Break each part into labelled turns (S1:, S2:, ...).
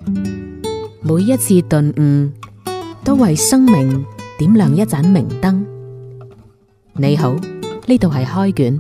S1: 每一次頓悟，都為生命點亮一盞明燈。你好，呢度係開卷。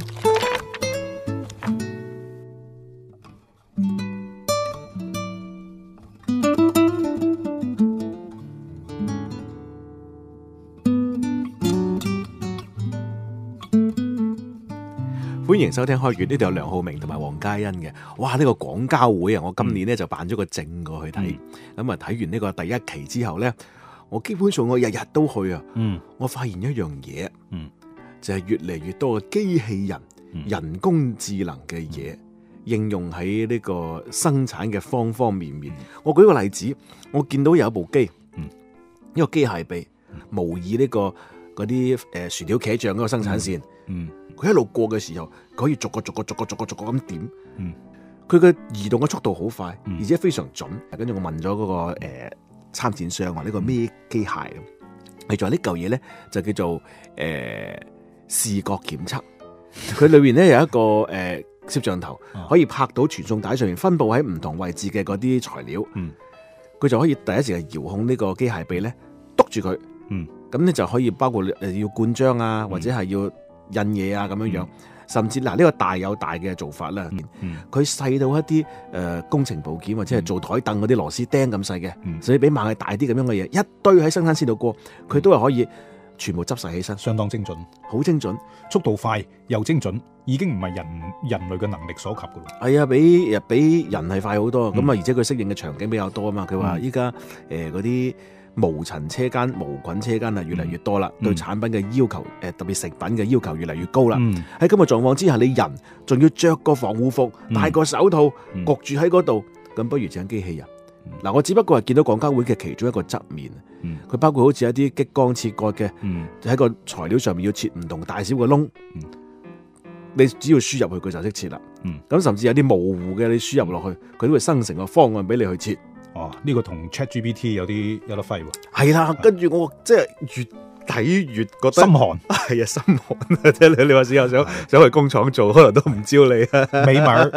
S2: 歡迎收聽開卷，呢度有梁浩明同埋黃嘉欣嘅。哇！呢個廣交會啊，我今年咧就辦咗個證過去睇。咁啊，睇完呢個第一期之後咧，我基本上我日日都去啊。我發現一樣嘢，就係越嚟越多嘅機器人、人工智能嘅嘢應用喺呢個生產嘅方方面面。我舉個例子，我見到有一部機，一個機械臂模擬呢個嗰啲薯條茄醬嗰個生產線。佢一路過嘅時候，佢可以逐個咁點。佢嘅移動嘅速度好快，而且非常準。跟住我問咗嗰個參展商話：呢個咩機械咁？係仲有呢嚿嘢咧，就叫做視覺檢測。佢裏邊咧有一個攝像頭，可以拍到傳送帶上面分佈喺唔同位置嘅嗰啲材料。佢就可以第一時間遙控呢個機械臂咧，督住佢。咁咧就可以包括要灌漿啊，或者係要印嘢啊咁樣樣，甚至嗱呢個大有大嘅做法啦。佢細到一啲工程部件或者係做台凳嗰啲螺絲釘咁細嘅，甚至比螞蟻大啲咁樣嘅嘢，一堆喺生產線度過，佢都係可以全部執晒起身，
S3: 相當精準，
S2: 好精準，
S3: 速度快又精準，已經唔係人類嘅能力所及噶咯。
S2: 係啊，比人係快好多。咁啊，而且佢適應嘅場景比較多啊嘛。佢話依家嗰啲無塵車間、無菌車間啊，越嚟越多啦，對產品嘅要求，特別食品嘅要求越嚟越高啦。喺咁嘅狀況之下，你人仲要着個防護服、戴個手套，焗住喺嗰度，咁不如整機器人。嗱，我只不過係見到廣交會嘅其中一個側面，佢包括好似一啲激光切割嘅，喺個材料上面要切唔同大小嘅窿，你只要輸入去，佢就識切啦。咁甚至有啲模糊嘅，你輸入落去，佢都會生成個方案俾你去切。
S3: 呢個同 ChatGPT 有得揮喎。係
S2: 啦，跟住我即係越睇越覺得
S3: 心寒。
S2: 係啊，心寒啊！即係你話之後想去工廠做，可能都唔招你啊。
S3: 美文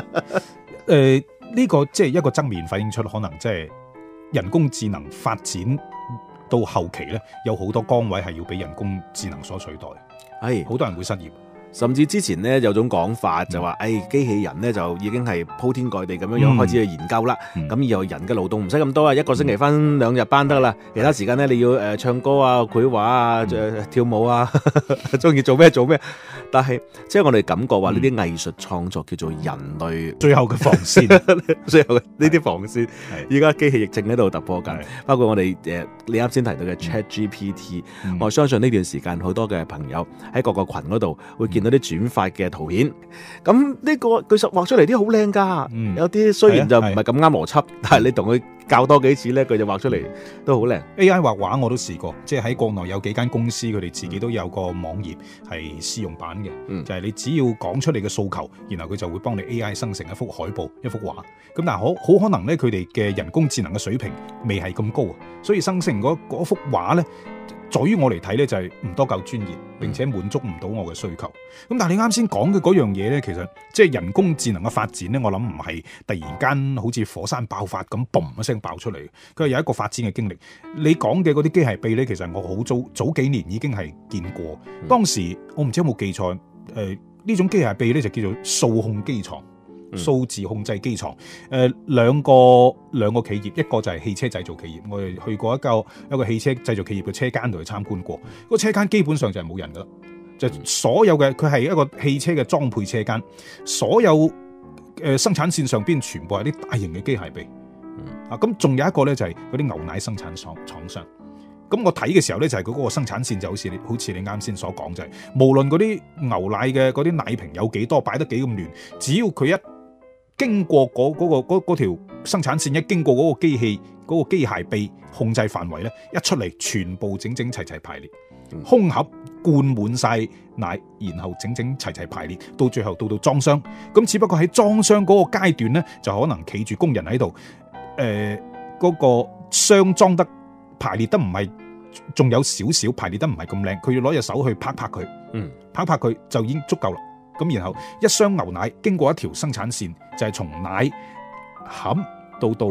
S3: 呢個即係一個側面反映出，可能即係人工智能發展到後期咧，有好多崗位係要俾人工智能所取代。係好多人會失業。
S2: 甚至之前咧有種講法就話，機器人咧就已經係鋪天蓋地咁樣開始去研究啦。咁以後人嘅勞動唔使咁多啊，一個星期返2日班得啦。其他時間咧你要唱歌啊、繪畫啊、跳舞啊，中意做咩做咩。但係即係我哋感覺話呢啲藝術創作叫做人類
S3: 最後嘅防線，
S2: 最後嘅呢啲防線，依家機器亦正喺度突破緊。包括我哋你啱先提到嘅 ChatGPT，我相信呢段時間好多嘅朋友喺各個群嗰度會見到啲轉發嘅圖片，咁呢個佢實畫出嚟啲好靚噶，有啲雖然就唔係咁啱邏輯，但係你同佢教多幾次咧，佢就畫出嚟都好靚。
S3: AI 畫畫我都試過，即係喺國內有幾間公司，佢哋自己都有個網頁係試用版嘅，就係你只要講出你嘅訴求，然後佢就會幫你 AI 生成一幅海報、一幅畫。咁但係好可能咧，佢哋嘅人工智能嘅水平未係咁高啊，所以生成嗰幅畫咧，在於我嚟睇咧就係唔多夠專業，並且滿足唔到我嘅需求。咁但係你啱先講嘅嗰樣嘢咧，其實即係人工智能嘅發展咧，我諗唔係突然間好似火山爆發咁嘣一聲爆出嚟，佢係有一個發展嘅經歷。你講嘅嗰啲機械臂咧，其實我好早幾年已經係見過。當時我唔知有冇記錯，呢種機械臂咧就叫做數控機床。數字控制機床，兩個企業，一個就係汽車製造企業，我哋去過一個汽車製造企業嘅車間度去參觀過，個車間基本上就係冇人噶啦，就所有嘅佢係一個汽車嘅裝配車間，所有生產線上邊全部係啲大型嘅機械臂，咁仲有一個咧就係嗰啲牛奶生產廠商。咁我睇嘅時候咧，就係佢嗰個生產線就好似你啱先所講，就係無論嗰啲牛奶嘅嗰啲奶瓶有幾多，擺得幾咁亂，只要佢一經過嗰條生產線，一經過嗰個機器嗰個機械臂控制範圍咧，一出嚟全部整整齊齊排列，空盒灌滿晒奶，然後整整齊齊排列，到最後到裝箱。咁只不過喺裝箱嗰個階段咧，就可能企住工人喺度，嗰個箱裝得排列得唔係，仲有少少排列得唔係咁靚，佢要攞隻手去拍拍佢，拍拍佢就已經足夠啦。咁然後一箱牛奶經過一條生產線，就係從奶餡到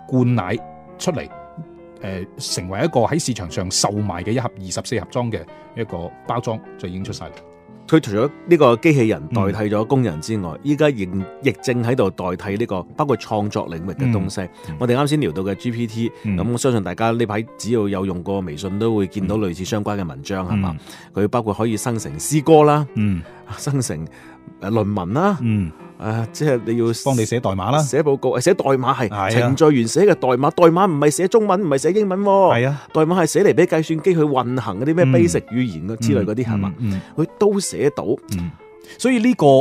S3: 罐奶出嚟，成為一個喺市場上售賣嘅一盒24盒裝嘅一個包裝就已經出晒嚟。
S2: 佢除咗呢個機器人代替咗工人之外，依家亦正喺度代替呢個包括創作領域嘅東西。我哋啱先聊到嘅 GPT，咁我相信大家呢排只要有用過微信都會見到類似相關嘅文章係嘛？佢包括可以生成詩歌啦，生成論文啦，即係你要
S3: 幫你寫代碼啦，
S2: 寫報告，寫代碼係程序員寫嘅代碼，代碼唔係寫中文，唔係寫英文，係啊，代碼係寫嚟俾計算機去運行嗰啲咩 basic 語言之類嗰啲係嘛，佢都寫到，
S3: 所以呢個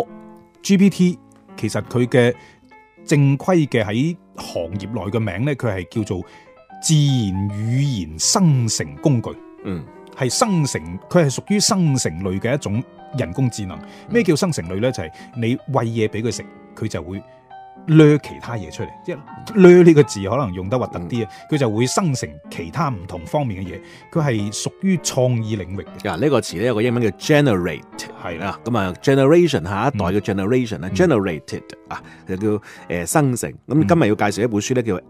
S3: GPT 其實佢嘅正規嘅喺行業內嘅名咧，佢係叫做自然語言生成工具，係生成，佢係屬於生成類嘅一種人工智能。咩叫生成類呢？就係你餵嘢俾佢食，佢就會掠其他嘢出嚟。即係掠呢個字可能用得核突啲啊，佢就會生成其他唔同方面嘅嘢。佢係屬於創意領域嘅。
S2: 呢個詞咧有個英文叫 generate， 係啦，咁啊 generation 下一代嘅 generation 啊，generated 啊，就叫生成。咁今日要介紹一本書咧，叫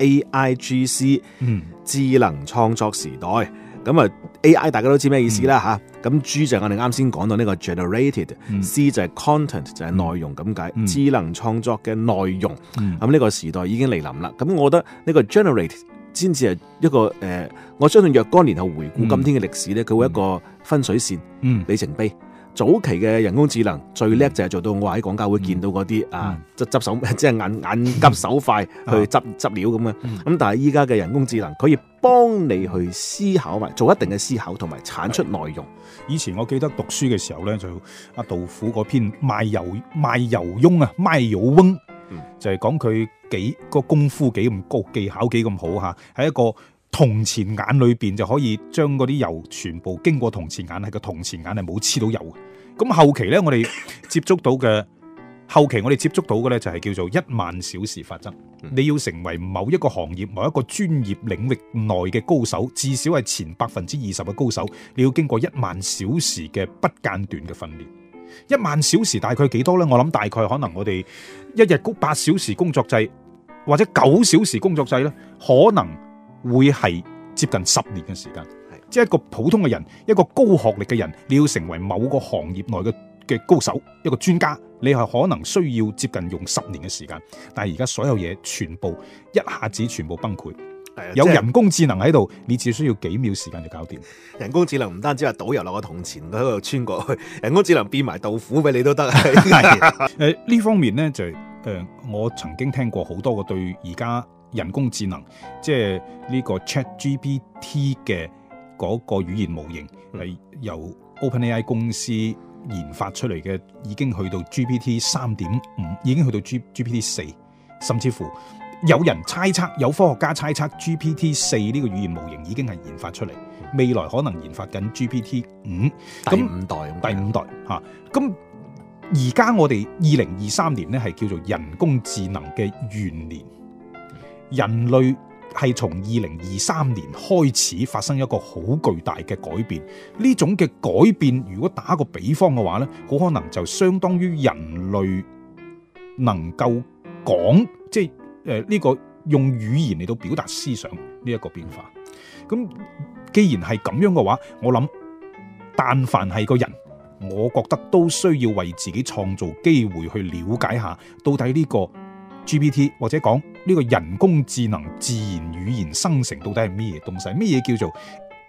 S2: AIGC 智能創作時代。咁啊 AI 大家都知咩意思啦吓，咁 G 就係我哋啱先講到呢個 generated，C 就係 content 就係內容咁解，智能創作嘅內容。咁呢個時代已經嚟臨啦。咁我覺得呢個 generate 先至係一個我相信若干年後回顧今天嘅歷史咧，佢會一個分水線、里程碑。早期嘅人工智能最叻就係做到我喺廣交會見到嗰啲執手，即係眼急手快去執料咁嘅。咁但係依家嘅人工智能可以幫你去思考埋，做一定嘅思考同埋產出內容。
S3: 以前我記得讀書嘅時候咧，就阿杜甫嗰篇賣油翁啊，賣油翁，就係講佢幾個功夫幾咁高，技巧幾咁好吓，喺一個銅錢眼裏邊就可以將嗰啲油全部經過銅錢眼，係個銅錢眼係冇黐到油嘅。咁後期咧，我哋接觸到嘅咧就係叫做10000小時法則。你要成為某一個行業、某一個專業領域內嘅高手，至少係前20%嘅高手，你要經過10000小時嘅不間斷嘅訓練。10000小時大概幾多咧？我諗大概可能我哋一日8小時工作制或者9小時工作制咧，可能會係接近10年嘅時間。即係一個普通嘅人，一個高學歷嘅人，你要成為某個行業內嘅高手，一個專家，你係可能需要接近用10年嘅時間。但係而家所有嘢全部一下子全部崩潰，有人工智能喺度，你只需要幾秒時間就搞掂。
S2: 人工智能唔單止係導遊落個銅錢嗰度穿過去，人工智能變埋豆腐俾你都得。
S3: 呢方面呢，就我曾經聽過好多個對而家人工智能，即係呢個 ChatGPT 嘅嗰個語言模型係由 OpenAI 公司研發出嚟嘅，已經去到 GPT 3.5，已經去到 GPT 4，甚至乎有人猜測，有科學家猜測 GPT 4呢個語言模型已經係研發出嚟，未來可能研發緊 GPT 5，
S2: 第五代
S3: 嚇。咁而家我哋2023年咧係叫做人工智能嘅元年，人類係從2023年開始發生一個好巨大嘅改變。呢種嘅改變，如果打個比方嘅話咧，好可能就相當於人類能夠講，即係呢個用語言嚟到表達思想呢一個變化。咁既然係咁樣嘅話，我諗但凡係個人，我覺得都需要為自己創造機會去了解下，到底呢個 GPT 或者講呢個人工智能自然語言生成到底係咩嘢東西？咩嘢叫做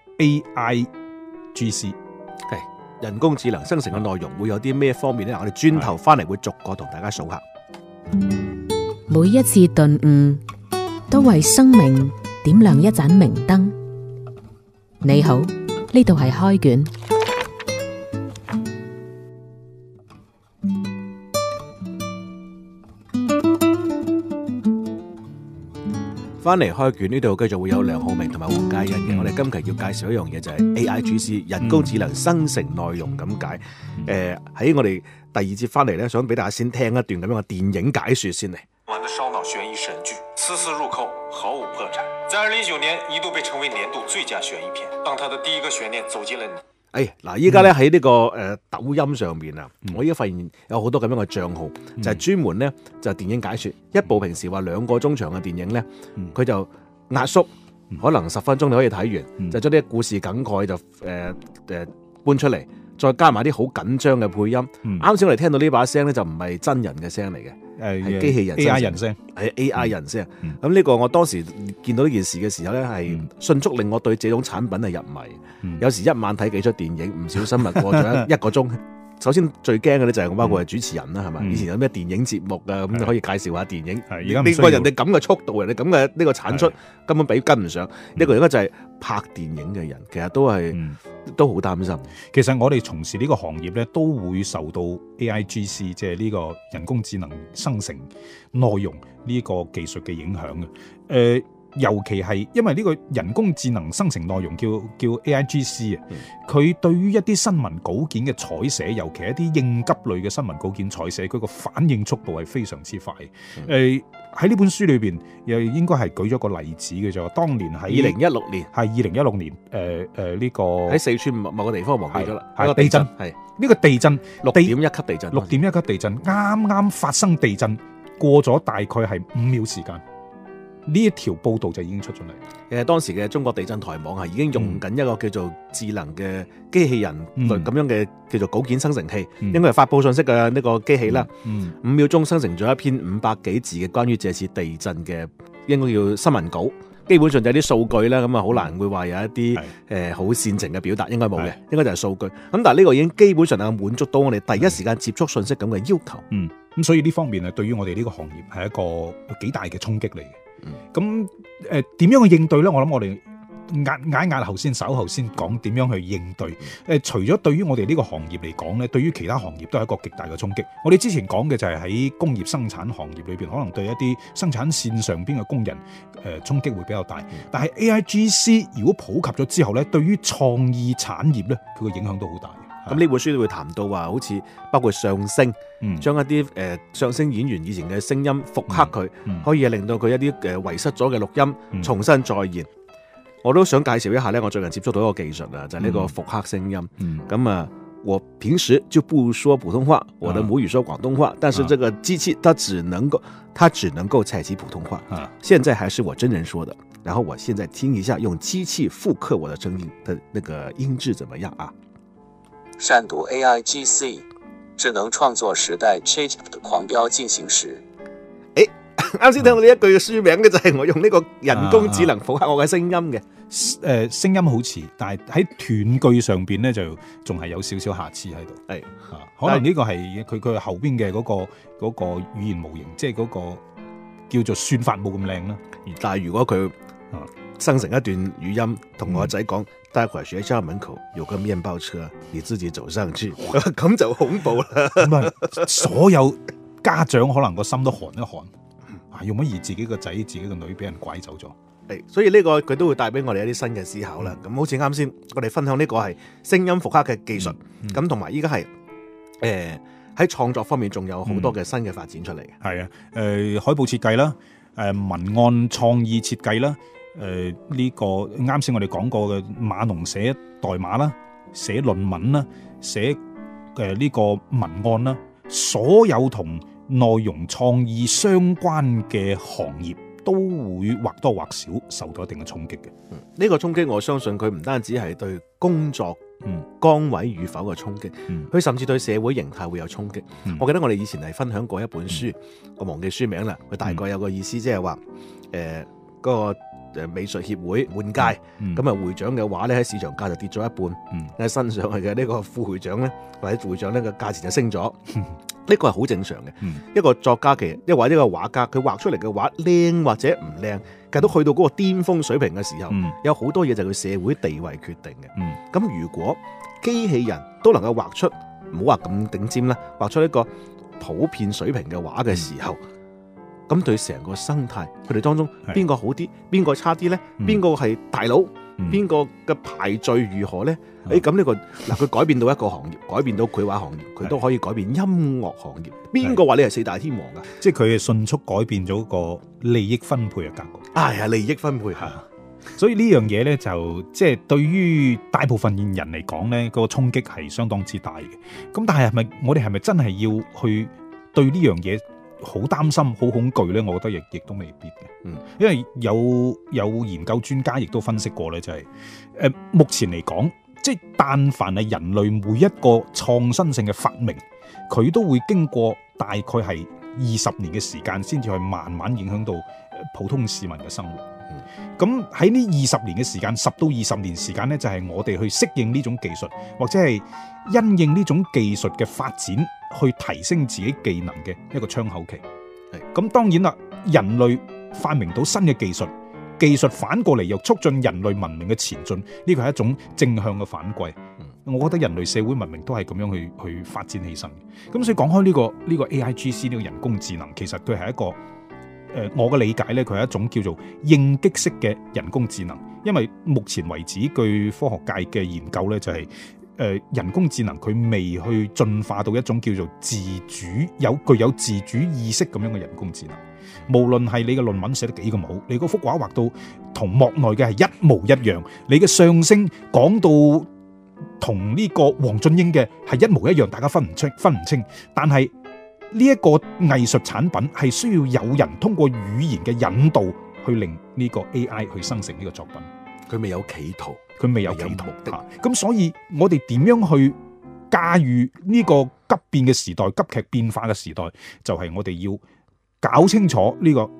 S3: AIGC？
S2: 係人工智能生成嘅內容會有啲咩方面呢？我哋轉頭翻嚟會逐個同大家數下。
S1: 每一次頓悟都為生命點亮一盞明燈。你好，呢度係開卷。
S2: 翻嚟開卷呢度繼續會有梁浩明同埋黃嘉欣嘅。我哋今期要介紹一樣嘢就係 AIGC 人工智能生成內容咁解。喺我哋第二節翻嚟咧，想俾大家先聽一段咁樣嘅電影解說先嚟。
S4: 玩的燒腦懸疑神劇，次次入扣，毫無破綻。在2019年一度被稱為年度最佳懸疑片。當他的第一個懸念走進了
S2: 嗱，依家咧喺呢個抖音上面啊，我依家發現有好多咁樣嘅帳號，就係專門咧就係電影解說，一部平時話2個鐘長嘅電影咧，佢就壓縮，可能10分鐘你可以睇完，就將啲故事梗概就搬出嚟，再加埋啲好緊張嘅配音。啱先我哋聽到呢把聲咧就唔係真人嘅聲嚟嘅，係機器人
S3: AI 人聲，
S2: 係 AI 人聲。咁呢個我當時見到呢件事嘅時候咧，係迅速令我對這種產品係入迷。有時一晚睇幾出電影，唔小心咪過咗一個鐘。首先最驚嘅咧就係我包括係主持人啦，係咪？以前有咩電影節目啊，咁你可以介紹下電影。
S3: 而家
S2: 呢個人哋咁嘅速度，人哋咁嘅呢個產出根本跟唔上。一個而家就係拍電影嘅人，其實都好擔心。
S3: 其實我哋從事呢個行業咧，都會受到 AIGC 即係呢個人工智能生成內容呢個技術嘅影響嘅。尤其係因為呢個人工智能生成內容叫 AIGC 啊，佢對於一啲新聞稿件嘅採寫，尤其一啲應急類嘅新聞稿件採寫，佢個反應速度係非常之快。喺呢本書裏邊又應該係舉咗個例子嘅啫。當年喺
S2: 2016年，
S3: 係2016年，呢個
S2: 喺四川某個地方忘記咗啦，
S3: 係地震，係呢個地震
S2: 6.1級地震
S3: ，6.1級地震啱啱發生地震，過咗大概係5秒時間。呢一條報道就已經出咗嚟。
S2: 當時嘅中國地震台網係已經用緊一個叫做智能嘅機器人類咁樣嘅叫做稿件生成器，應該係發佈信息嘅呢個機器啦。5秒鐘生成咗一篇500幾字嘅關於這次地震嘅應該叫新聞稿。基本上就係啲數據啦，咁啊好難會話有一啲好煽情嘅表達，應該冇嘅，應該就係數據。咁但係呢個已經基本上係滿足到我哋第一時間接觸信息咁嘅要求。
S3: 咁所以呢方面對於我哋呢個行業係一個幾大嘅衝擊嚟嘅。咁點樣去應對呢？我諗我哋壓後先，稍後先講點樣去應對。除咗對於我哋呢個行業嚟講呢，對於其他行業都係一個極大嘅衝擊。我哋之前講嘅就係喺工業生產行業裏邊，可能對一啲生產線上邊嘅工人衝擊會比較大。但係 AIGC 如果普及咗之後呢，對於創意產業呢，佢嘅影響都好大。
S2: 咁呢本書都會談到話，好似包括相聲，將一啲相聲演員以前嘅聲音復刻佢，可以令到佢一啲遺失咗嘅錄音重新再現。我都想介紹一下呢，我最近接觸到一個技術啊，就係呢個復刻聲音。咁啊，我平時就不說普通話，我的母語說廣東話，但是這個機器它只能夠採集普通話。現在還是我真人說的，然後我現在聽一下用機器復刻我的聲音的那個音質怎麼樣啊？
S5: 善讀 AIGC 智能創作時代 ChatGPT 的狂飆進行時。
S2: 啱先聽到呢一句嘅書名嘅就係我用呢個人工智能復刻我嘅聲音嘅。
S3: 聲音好似，但係喺斷句上邊咧就仲係有少少瑕疵喺度。係可能呢個係佢後邊嘅嗰個語言模型，即係嗰個叫做算法冇咁靚啦。
S2: 但係如果佢生成一段語音，同我仔講，待會兒學校門口有個麵包車，你自己走上去，咁就恐怖啦。
S3: 咁啊，所有家長可能個心都寒一寒，用乜而自己個仔、自己個女俾人拐走咗。
S2: 所以呢個佢都會帶俾我哋一啲新嘅思考啦。咁好似啱先我哋分享呢個係聲音復刻嘅技術，咁同埋依家係喺創作方面仲有好多嘅新嘅發展出嚟嘅。
S3: 係啊，海報設計啦，文案創意設計啦。呢個啱先我哋講過嘅碼農寫代碼啦，寫論文啦，寫呢個文案啦，所有同內容創意相關嘅行業都會或多或少受到一定嘅衝擊嘅。
S2: 呢個衝擊我相信佢唔單止係對工作崗位與否嘅衝擊，佢甚至對社會形態會有衝擊。我記得我哋以前係分享過一本書，我忘記書名啦，佢大概有個意思，即係話嗰個美術協會換屆，咁啊會長嘅話咧喺市場價就跌咗一半，喺新上去嘅呢個副會長咧或者會長咧個價錢就升咗，呢個係好正常嘅。一個作家其實或者一個畫家，佢畫出嚟嘅畫靚或者唔靚，其實都去到嗰個巔峰水平嘅時候，有好多嘢就係佢社會地位決定嘅。咁如果機器人都能夠畫出唔好話咁頂尖啦，畫出一個普遍水平嘅畫嘅時候，咁對成個生態，佢哋當中邊個好啲，邊個差啲呢？邊個係大佬？邊個嘅排序如何呢？咁呢個佢改變到一個行業，改變到繪畫行業，佢都可以改變音樂行業。邊個話你係四大天王㗎？
S3: 即係佢係迅速改變咗個利益分配嘅格局。
S2: 係利益分配。
S3: 所以呢樣嘢咧就即係對於大部分人嚟講咧，個衝擊係相當之大嘅。咁但係我哋係咪真係要去對呢樣嘢好擔心、好恐懼咧？我覺得亦都未必嘅。因為有研究專家亦都分析過咧，就係目前嚟講，即係但凡係人類每一個創新性嘅發明，佢都會經過大概係20年嘅時間，先至去慢慢影響到普通市民嘅生活。咁喺呢20年嘅時間，10到20年時間呢，就係我哋去適應呢種技術，或者係因應呢種技術嘅發展，去提升自己技能嘅一個窗口期。咁當然啦，人類發明到新嘅技術反過嚟又促進人類文明嘅前進，呢個係一種正向嘅反饋。我覺得人類社會文明都係咁樣去發展起身。咁所以講開呢個 AIGC 呢個人工智能，其實佢係一個我嘅理解呢，佢係一種叫做應激式嘅人工智能。因為目前為止，據科學界嘅研究呢，就係人工智能佢未去進化到一種叫做具有自主意識咁樣嘅人工智能。無論係你嘅論文寫得幾咁好，你嗰幅畫畫到同幕內嘅係一模一樣，你嘅相聲講到同呢個黃俊英嘅係一模一樣，大家分唔清。但係呢一個藝術產品係需要有人通過語言嘅引導去令呢個 AI 去生成呢個作品。
S2: 佢未有企圖，
S3: 佢未有企圖的。咁所以我哋點樣去駕馭呢個急變嘅時代、急劇變化嘅時代，就係我哋要搞清楚呢個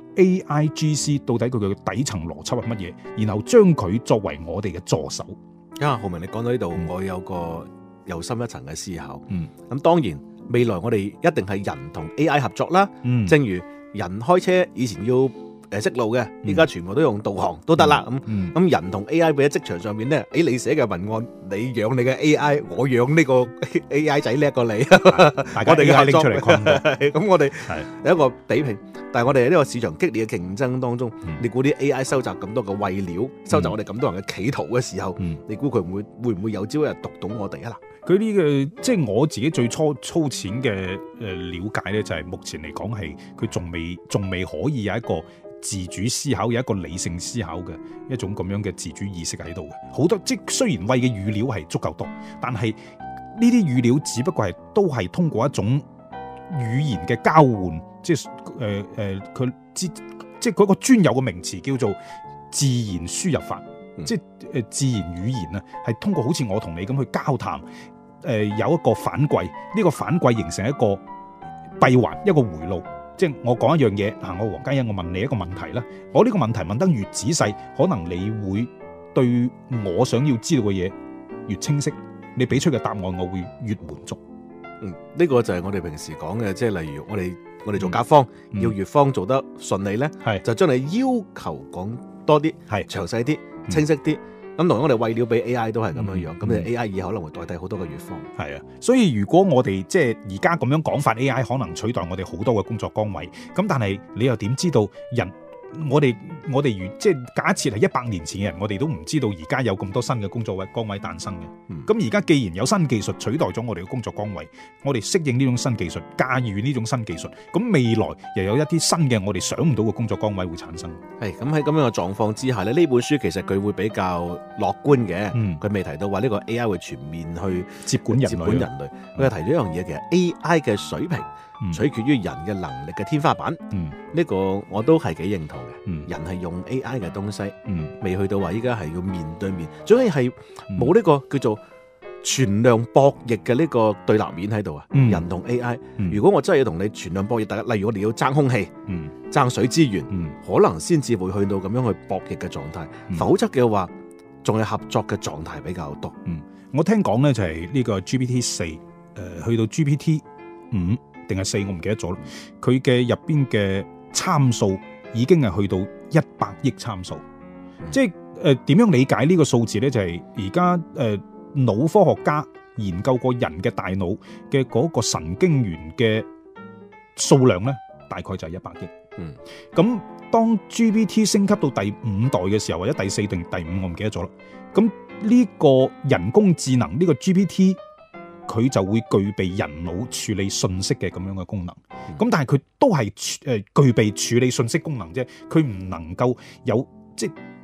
S3: AIGC 到底佢嘅底層邏輯係乜嘢，然後將佢作為我哋嘅助手。
S2: 浩明，你講到呢度，我有個又深一層嘅思考。咁當然未來我哋一定係人同 AI 合作啦。正如人開車以前要識路嘅，依家全部都用導航都得啦。咁人同 AI 俾喺職場上面咧，你寫嘅文案，你養你嘅 AI， 我養呢個 AI 仔叻過你，
S3: 大家 AI 拎出嚟困
S2: 咁我哋有一個比拼。但係我哋喺呢個市場激烈嘅競爭當中，你估啲 AI 收集咁多嘅餵料，收集我哋咁多人嘅企圖嘅時候，你估佢會唔會有朝一日讀懂我哋啊？
S3: 佢呢個即係我自己最粗淺嘅了解咧，就係目前嚟講係佢仲未可以有一個自主思考，有一個理性思考嘅一種咁樣嘅自主意識喺度嘅。好多即雖然餵嘅語料係足夠多，但係呢啲語料只不過都係通過一種語言嘅交換，即係佢即係嗰個專有嘅名詞叫做自然輸入法，即係自然語言啊，係通過好似我同你咁去交談，有一個反饋，呢個反饋形成一個閉環，一個回路。即係我講一樣嘢，我黃嘉欣，我問你一個問題啦，我呢個問題問得越仔細，可能你會對我想要知道嘅嘢越清晰，你俾出嘅答案我會越滿足。
S2: 呢個就係我哋平時講嘅，即係例如我哋做甲方，要乙方做得順利咧，就將你要求講多啲，詳細啲，清晰啲。咁同我哋餵料俾 AI 都係咁樣樣，咁你 AI 以後可能會代替好多嘅乙方。係啊，
S3: 所以如果我哋即係而家咁樣講法 ，AI 可能取代我哋好多嘅工作崗位。咁但係你又點知道我哋如即係假設係100年前嘅人，我哋都唔知道而家有咁多新嘅工作崗位誕生嘅。咁而家既然有新技術取代咗我哋嘅工作崗位，我哋適應呢種新技術，駕馭呢種新技術，咁未來又有一啲新嘅我哋想唔到嘅工作崗位會產生。
S2: 係咁喺咁樣嘅狀況之下咧，呢本書其實佢會比較樂觀嘅。佢未提到話呢個 AI 會全面去接管人類。佢提咗一樣嘢，其實 AI 嘅水平取決於人嘅能力嘅天花板。呢個我都係幾認同嘅。人係用 AI 嘅東西，未去到話依家係要面對面，總係冇呢個叫做全量博弈嘅呢個對立面喺度啊。人同 AI，如果我真係要同你全量博弈，例如我哋要爭空氣、爭水資源，可能先至會去到咁樣去博弈嘅狀態。否則嘅話，仲係合作嘅狀態比較多。
S3: 我聽講呢就係呢個 GPT-4，去到 GPT-5定係4，我唔記得咗。佢嘅入邊嘅參數已經係去到100億參數。即係點樣理解呢個數字呢？就係而家腦科學家研究過人嘅大腦嘅嗰個神經元嘅數量呢，大概就係100億。咁當 GPT 升級到第5代嘅時候，或者第4定第5，我唔記得咗啦。咁呢個人工智能呢個 GPT，佢就會具備人腦處理信息嘅咁樣嘅功能。咁但係佢都係具備處理信息功能啫，佢唔能夠有即係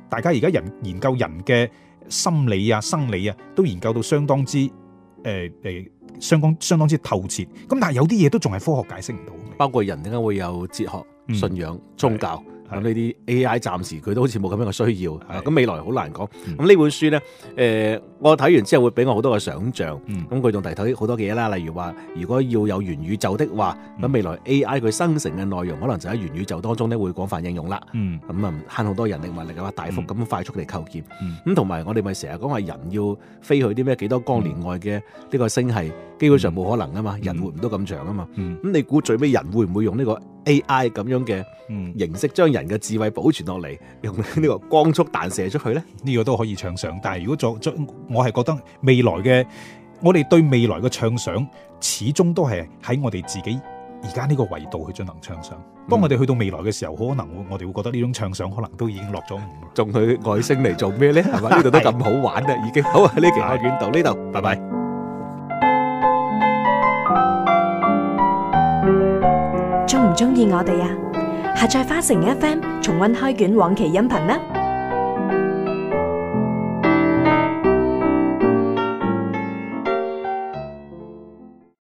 S3: 大家而家研究人嘅心理啊、生理啊，都研究到相當之相當之透徹。咁但係有啲嘢都仲係科學解釋唔到，
S2: 包括人點解會有哲學、信仰、宗教。咁呢啲 AI 暫時佢都好似冇咁樣嘅需要，咁未來好難講。咁呢本書呢，我睇完之後會俾我好多嘅想像。咁佢仲提到好多嘅嘢啦，例如話，如果要有元宇宙的話，咁未來 AI 佢生成嘅內容可能就喺元宇宙當中咧會廣泛應用啦。咁啊慳好多人力物力啊，大幅咁快速地構建。咁同埋我哋咪成日講話人要飛去啲咩幾多光年外嘅呢個星系，基本上冇可能啊嘛，人活唔到咁長啊嘛。咁你估最尾人會唔會用呢個 AI 咁樣嘅形式將人嘅智慧保存落嚟，用呢個光速彈射出去呢？
S3: 呢個都可以暢想。但係如果我係覺得未來嘅，我哋對未來嘅暢想，始終都係喺我哋自己而家呢個維度去進行暢想。當我哋去到未來嘅時候，可能我哋會覺得呢種暢想可能都已經落咗伍。
S2: 仲去外星嚟做咩呢？係嘛？呢度都咁好玩啦，已經。好啊，呢期開卷到呢度，拜拜。
S6: 中唔中意我哋啊？下載花城 FM 重溫開卷往期音頻啦！